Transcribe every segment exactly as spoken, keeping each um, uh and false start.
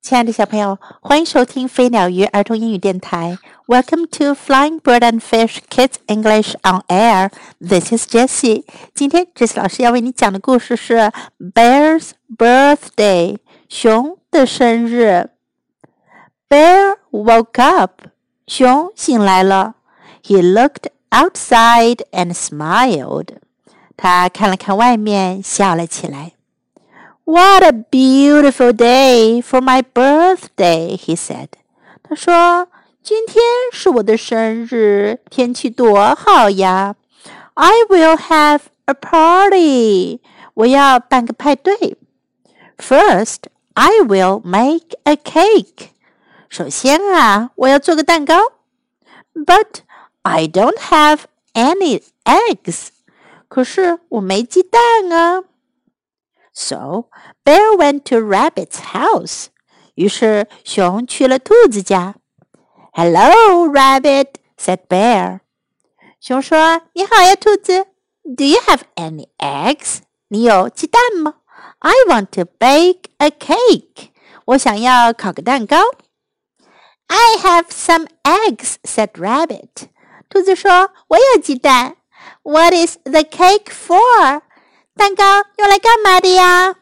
亲爱的小朋友，欢迎收听飞鸟鱼儿童英语电台。Welcome to Flying Bird and Fish Kids English on Air. This is Jessie. 今天 Jessie 老师要为你讲的故事是 Bear's Birthday. 熊的生日。Bear woke up. 熊醒来了。He looked outside and smiled. 他看了看外面，笑了起来。What a beautiful day for my birthday, he said. 他说，今天是我的生日，天气多好呀。I will have a party. 我要办个派对。First, I will make a cake. 首先啊，我要做个蛋糕。But I don't have any eggs. 可是我没鸡蛋啊。So, Bear went to Rabbit's house. 于是熊去了兔子家。Hello, Rabbit, said Bear. 熊说，你好呀，兔子。Do you have any eggs? 你有鸡蛋吗？ I want to bake a cake. 我想要烤个蛋糕。I have some eggs, said Rabbit. 兔子说，我有鸡蛋。What is the cake for?蛋糕用来干嘛的呀？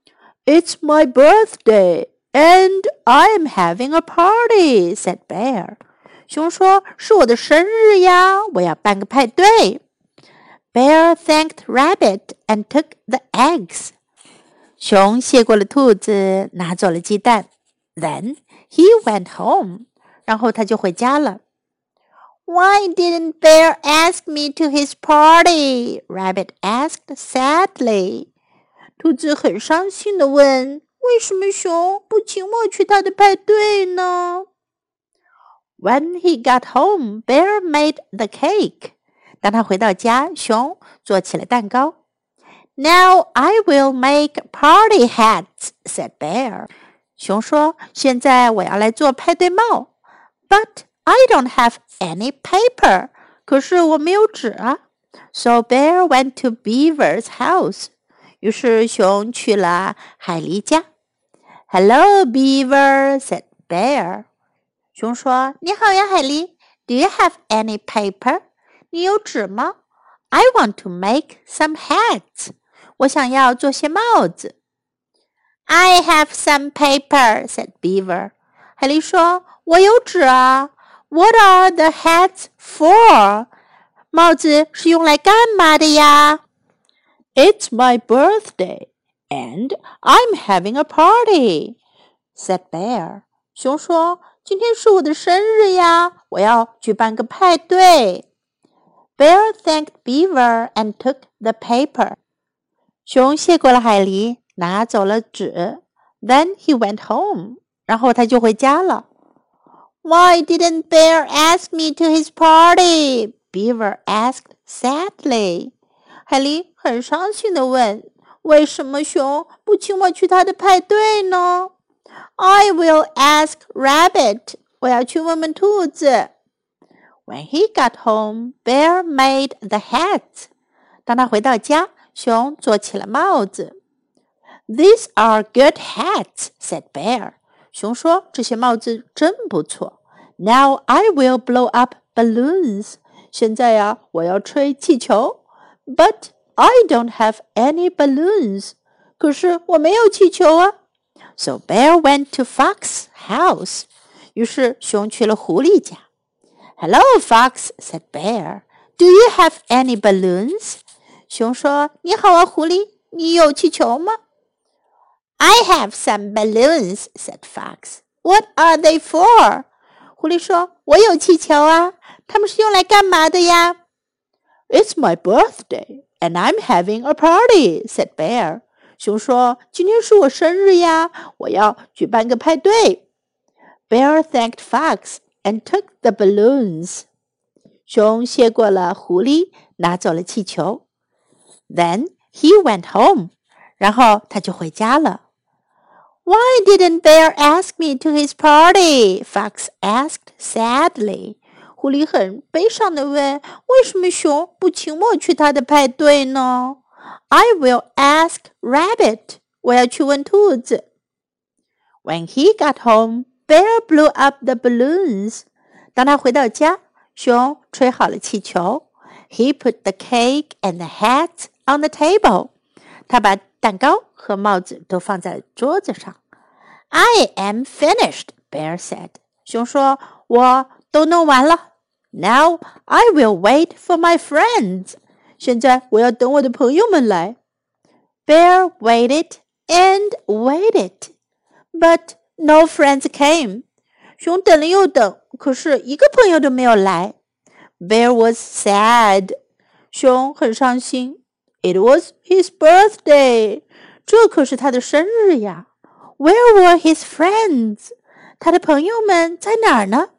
It's my birthday, and I'm having a party, said Bear. 熊说，是我的生日呀，我要办个派对。Bear thanked Rabbit and took the eggs. 熊谢过了兔子，拿走了鸡蛋。Then he went home. 然后他就回家了。Why didn't Bear ask me to his party? Rabbit asked sadly. 兔子很伤心地问，为什么熊不请我去他的派对呢？ When he got home, Bear made the cake. 当他回到家，熊做起了蛋糕。Now I will make party hats, said Bear. 熊说，现在我要来做派对帽。But I don't have any paper. 可是我没有纸啊。So Bear went to Beaver's house. 于是熊去了海狸家。Hello, Beaver, said Bear. 熊说，你好呀，海狸。Do you have any paper? 你有纸吗？ I want to make some hats. 我想要做些帽子。I have some paper, said Beaver. 海狸说，我有纸啊。What are the hats for? 帽子是用来干嘛的呀？ It's my birthday, and I'm having a party, said Bear. 熊说，今天是我的生日呀，我要举办个派对。Bear thanked Beaver and took the paper. 熊谢过了海狸，拿走了纸。Then he went home. 然后他就回家了。Why didn't Bear ask me to his party? Beaver asked sadly. 海狸很伤心地问，为什么熊不请我去他的派对呢？ I will ask Rabbit. 我要去问问兔子。When he got home, Bear made the hats. 当他回到家，熊做起了帽子。These are good hats, said Bear. 熊说，这些帽子真不错。Now I will blow up balloons. 现在呀，我要吹气球。But I don't have any balloons. 可是我没有气球啊。So Bear went to Fox's house. 于是熊去了狐狸家。Hello, Fox, said Bear. Do you have any balloons? 熊说，你好啊，狐狸，你有气球吗？I have some balloons, said Fox. What are they for? 狐狸说，我有气球啊，它们是用来干嘛的呀？ It's my birthday, and I'm having a party, said Bear. 熊说，今天是我生日呀，我要举办个派对。Bear thanked Fox and took the balloons. 熊谢过了狐狸，拿走了气球。Then he went home. 然后他就回家了。Why didn't Bear ask me to his party? Fox asked sadly. 狐狸很悲伤地问，为什么熊不请我去他的派对呢？ I will ask Rabbit. 我要去问兔子。 When he got home, Bear blew up the balloons. 当他回到家，熊吹好了气球。He put the cake and the hat on the table. 他把蛋糕和帽子都放在桌子上。I am finished, Bear said. 熊说，我都弄完了。Now I will wait for my friends. 现在我要等我的朋友们来。Bear waited and waited, but no friends came. 熊等了又等，可是一个朋友都没有来。Bear was sad. 熊很伤心。It was his birthday. 这可是他的生日呀。Where were his friends? 他的朋友们在哪儿呢？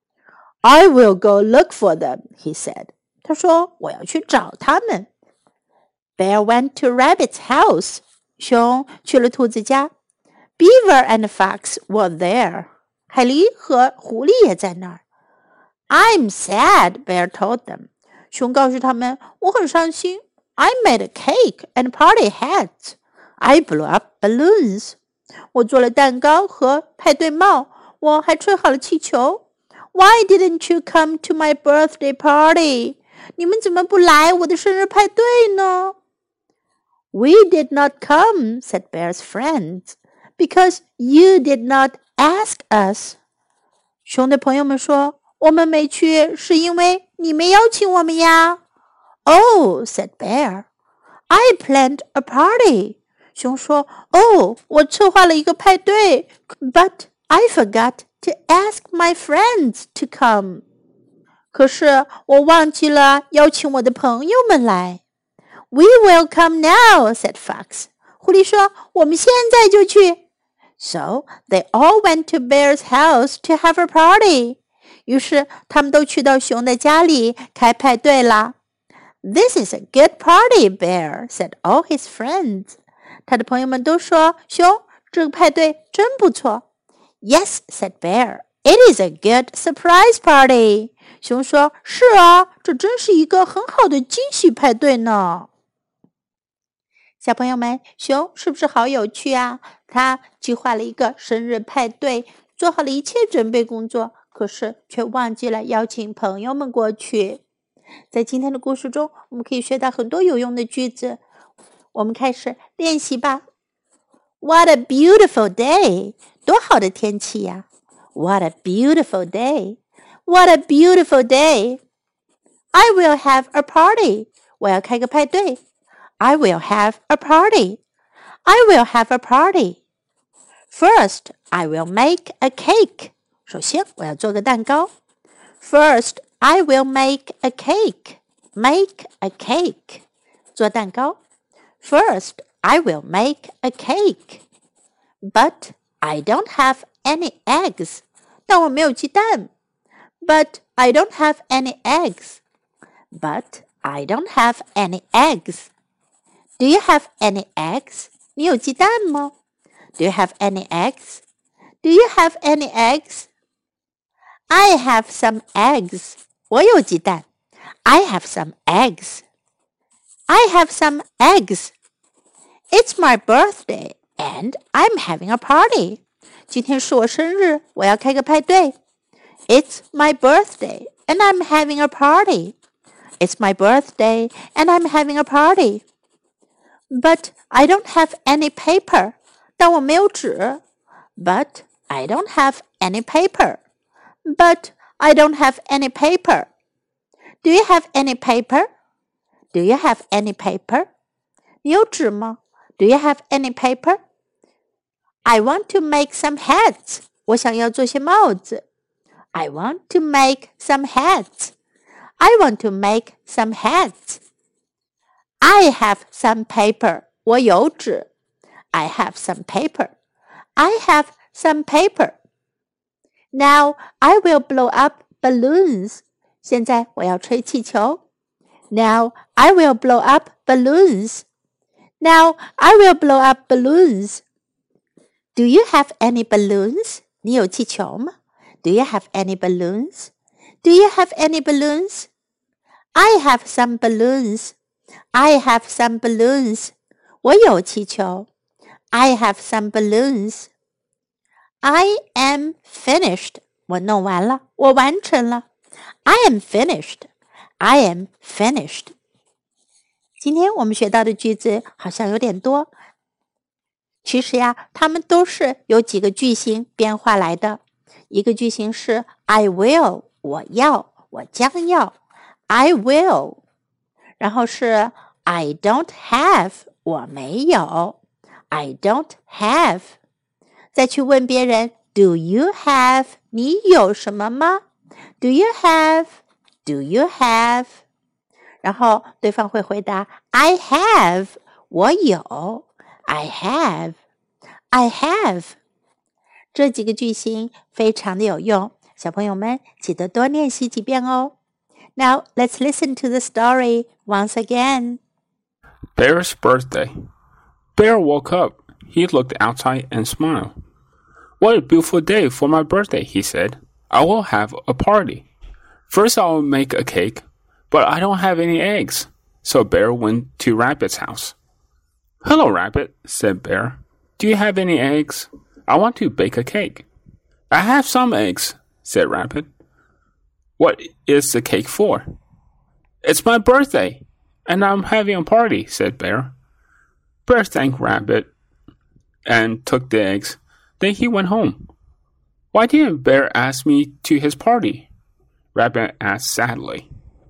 I will go look for them, he said. 他说，我要去找他们。Bear went to Rabbit's house. 熊去了兔子家。Beaver and Fox were there. 海狸和狐狸也在那儿。I'm sad, Bear told them. 熊告诉他们，我很伤心。I made a cake and party hats. I blew up balloons. 我做了蛋糕和派对帽，我还吹好了气球。Why didn't you come to my birthday party? 你们怎么不来我的生日派对呢？ We did not come, said Bear's friends, because you did not ask us. 熊的朋友们说，我们没去是因为你没邀请我们呀。Oh, said Bear, I planned a party. 熊说，哦，我策划了一个派对 but I forgot to ask my friends to come. 可是我忘记了邀请我的朋友们来。We will come now, said Fox. 狐狸说，我们现在就去。So they all went to Bear's house to have a party. 于是他们都去到熊的家里开派对啦。This is a good party, Bear, said all his friends. 他的朋友们都说，熊，这个派对真不错。Yes, said Bear, it is a good surprise party. 熊说，是啊，这真是一个很好的惊喜派对呢。小朋友们，熊是不是好有趣啊？他计划了一个生日派对，做好了一切准备工作，可是却忘记了邀请朋友们过去。在今天的故事中，我们可以学到很多有用的句子。我们开始练习吧。What a beautiful day! 多好的天气呀 ！What a beautiful day! What a beautiful day! I will have a party. 我要开个派对。I will have a party. I will have a party. First, I will make a cake. 首先，我要做个蛋糕。First, I will make a cake. Make a cake. 做蛋糕。First, I will make a cake. But I don't have any eggs. 但我没有鸡蛋。But I don't have any eggs. But I don't have any eggs. Do you have any eggs? 你有鸡蛋吗？ Do you have any eggs? Do you have any eggs? I have some eggs. 我有鸡蛋。I have some eggs. I have some eggs. It's my birthday and I'm having a party. 今天是我生日，我要开个派对。It's my birthday and I'm having a party. It's my birthday and I'm having a party. But I don't have any paper. 但我没有纸。But I don't have any paper. But I don't have any paper. Do you have any paper? Do you have any paper? 你有纸吗？ Do you have any paper? I want to make some hats. 我想要做些帽子。I want to make some hats. I want to make some hats. I have some paper. 我有纸。I have some paper. I have some paper. Now I will blow up balloons. 现在我要吹气球。Now I will blow up balloons. Now I will blow up balloons. Do you have any balloons? 你有气球吗？ Do you have any balloons? Do you have any balloons? I have some balloons. I have some balloons. 我有气球。I have some balloons. I am finished. 我弄完了，我完成了。I am finished. I am finished. 今天我们学到的句子好像有点多，其实呀，它们都是由几个句型变化来的。一个句型是 I will， 我要，我将要 I will， 然后是 I don't have， 我没有 I don't have， 再去问别人 Do you have， 你有什么吗？ Do you have， Do you have， 然后对方会回答 I have， 我有 I have， I have。 这几个句型非常的有用，小朋友们记得多练习几遍哦。Now let's listen to the story once again. Bear's birthday. Bear woke up. He looked outside and smiled. What a beautiful day for my birthday, he said. I will have a party. First I will make a cake, but I don't have any eggs. So Bear went to Rabbit's house. Hello, Rabbit, said Bear. Do you have any eggs? I want to bake a cake. I have some eggs, said Rabbit. What is the cake for? It's my birthday, and I'm having a party, said Bear. Bear thanked Rabbit and took the eggs. Then he went home. Why didn't Bear ask me to his party? Rabbit asked sadly.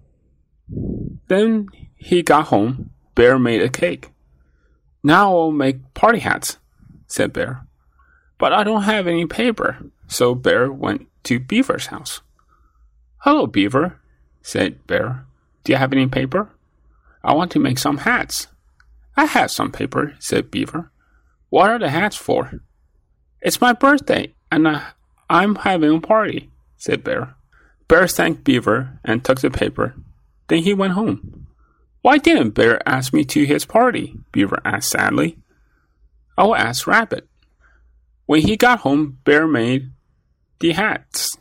Then he got home. Bear made a cake. Now I'll make party hats, said Bear. But I don't have any paper, so Bear went to Beaver's house. Hello, Beaver, said Bear. Do you have any paper? I want to make some hats. I have some paper, said Beaver. What are the hats for? It's my birthday, and I, I'm having a party, said Bear. Bear thanked Beaver and took the paper. Then he went home. Why didn't Bear ask me to his party? Beaver asked sadly. I will ask Rabbit. When he got home, Bear made the hats.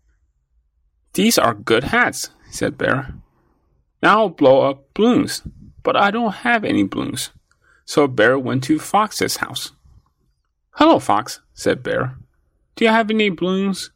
These are good hats, said Bear. Now I'll blow up balloons, but I don't have any balloons. So Bear went to Fox's house. Hello, Fox, said Bear. Do you have any balloons?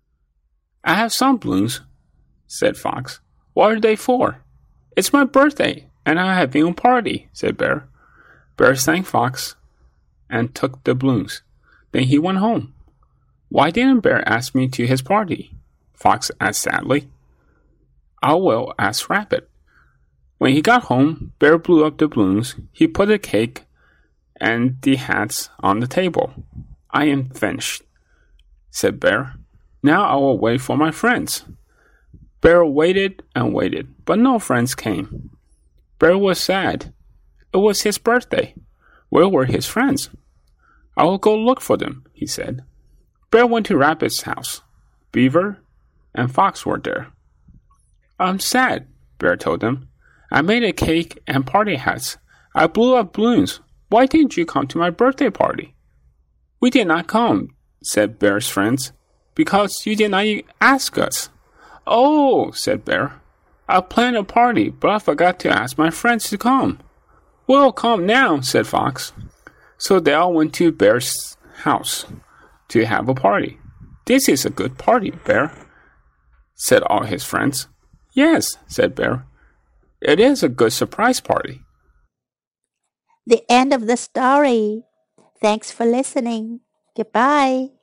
I have some balloons, said Fox. What are they for? It's my birthday, and I'm having a party, said Bear. Bear thanked Fox and took the balloons. Then he went home. Why didn't Bear ask me to his party? Fox asked sadly. I will ask Rabbit. When he got home, Bear blew up the balloons. He put the cake and the hats on the table. I am finished, said Bear. Now I will wait for my friends. Bear waited and waited, but no friends came. Bear was sad. It was his birthday. Where were his friends? I will go look for them, he said. Bear went to Rabbit's house. Beaver and Fox were there. I'm sad, Bear told them. I made a cake and party hats. I blew up balloons. Why didn't you come to my birthday party? We did not come, said Bear's friends, because you did not ask us. Oh, said Bear. I planned a party, but I forgot to ask my friends to come. We'll come now, said Fox. So they all went to Bear's house to have a party. This is a good party, Bear, said all his friends. Yes, said Bear. It is a good surprise party. The end of the story. Thanks for listening. Goodbye.